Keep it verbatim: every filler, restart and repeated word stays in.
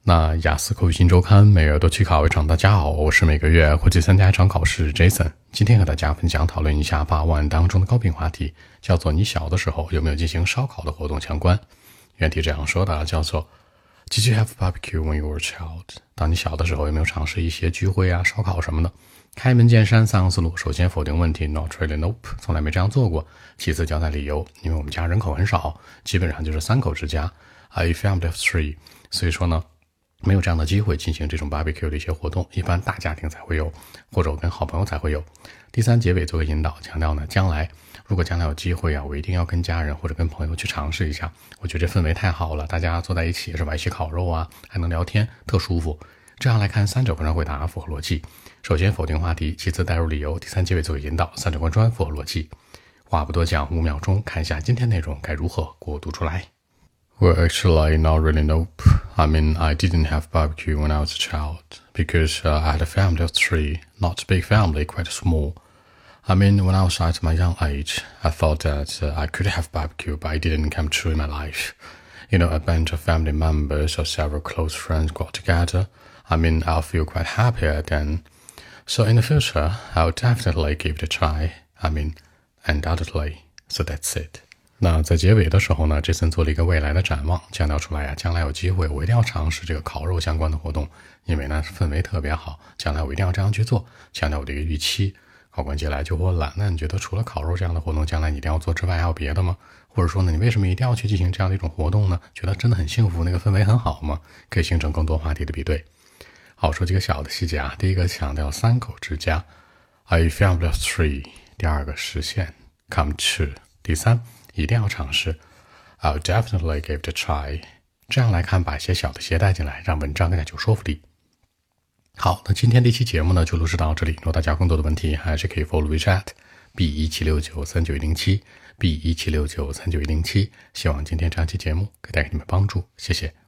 那雅思口语新周刊每月都去考一场，大家好，我是每个月会去参加一场考试 Jason。 今天和大家分享讨论一下八万当中的高频话题，叫做你小的时候有没有进行烧烤的活动相关。原题这样说的，叫做 Did you have barbecue when you were a child？ 当你小的时候有没有尝试一些聚会啊烧烤什么的。开门见山三个思路，首先否定问题 Not really, nope， 从来没这样做过。其次交代理由，因为我们家人口很少，基本上就是三口之家 A family of three， 所以说呢没有这样的机会进行这种 barbecue 的一些活动，一般大家庭才会有，或者我跟好朋友才会有。第三，结尾做个引导，强调呢将来如果将来有机会啊，我一定要跟家人或者跟朋友去尝试一下。我觉得这氛围太好了，大家坐在一起是吧，一起烤肉啊，还能聊天，特舒服。这样来看，三者贯穿回答符合逻辑。首先否定话题，其次带入理由，第三结尾做个引导，三者贯穿符合逻辑。话不多讲，五秒钟看一下今天内容该如何给我读出来。Well, actually, not really, nope. I mean, I didn't have barbecue when I was a child, because uh, I had a family of three, not a big family, quite small. I mean, when I was at my young age, I thought that uh, I could have barbecue, but it didn't come true in my life. You know, a bunch of family members or several close friends got together. I mean, I'll feel quite happier then. So in the future, I'll definitely give it a try. I mean, undoubtedly. So that's it.那在结尾的时候呢 Jason 做了一个未来的展望，强调出来呀，将来有机会我一定要尝试这个烤肉相关的活动，因为呢氛围特别好，将来我一定要这样去做，强调我的一个预期。考官接下来就问了，那你觉得除了烤肉这样的活动将来你一定要做之外还有别的吗？或者说呢你为什么一定要去进行这样的一种活动呢？觉得真的很幸福，那个氛围很好吗？可以形成更多话题的比对。好，说几个小的细节啊，第一个强调三口之家 A family of three， 第二个实现 come true， 第三一定要尝试 I'll definitely give it a try。 这样来看，把一些小的鞋带进来，让文章更加有说服力。好，那今天这期节目呢就录制到这里，如果大家有更多的问题还是可以 follow WeChat B 一七六九三九一零七 B 一七六九三九一零七。希望今天这样期节目可以带给你们帮助，谢谢。